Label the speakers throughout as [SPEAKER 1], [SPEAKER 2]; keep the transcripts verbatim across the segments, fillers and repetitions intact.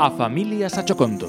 [SPEAKER 1] A familia Sachoconto.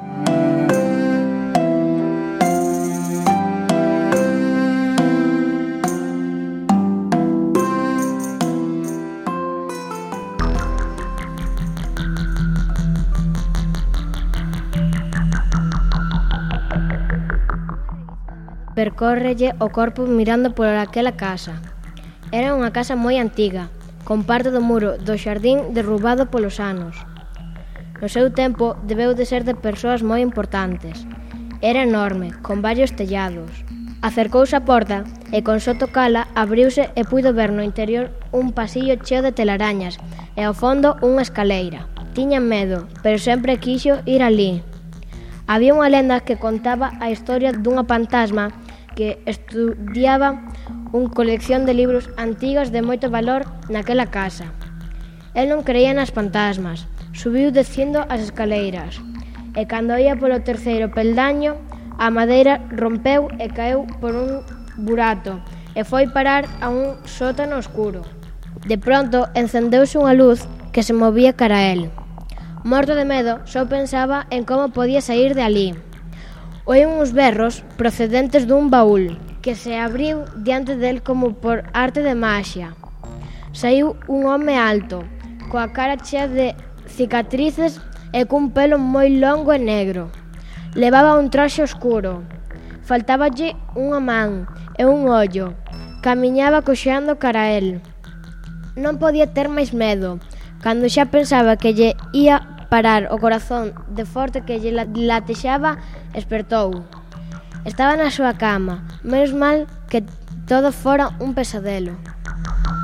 [SPEAKER 2] Percórrelle o corpo mirando por aquela casa. Era unha casa moi antiga, con parte do muro do xardín derrubado polos anos. No seu tempo debeu de ser de persoas moi importantes. Era enorme, con varios tellados. Acercouse á porta e con só tocala abriuse e puido ver no interior un pasillo cheo de telarañas e ao fondo unha escaleira. Tiña medo, pero sempre quixo ir alí. Había unha lenda que contaba a historia dunha fantasma que estudiaba unha colección de libros antigos de moito valor naquela casa. El non creía nas fantasmas, subiu descendo as escaleiras, e cando ia polo terceiro peldaño, a madeira rompeu e caeu por un burato e foi parar a un sótano oscuro. De pronto encendeuse unha luz que se movía cara a el. Morto de medo, só pensaba en como podía sair de alí. Oí uns berros procedentes dun baúl que se abriu diante del como por arte de maxia. Saiu un home alto, coa cara chea de cicatrices e cun pelo moi longo e negro. Levaba un traxe oscuro. Faltáballe unha man e un ollo. Camiñaba coxeando cara a el. Non podía ter máis medo. Cando xa pensaba que lle ia parar o corazón de forte que lle latexaba, espertou. Estaba na súa cama, menos mal que todo fora un pesadelo.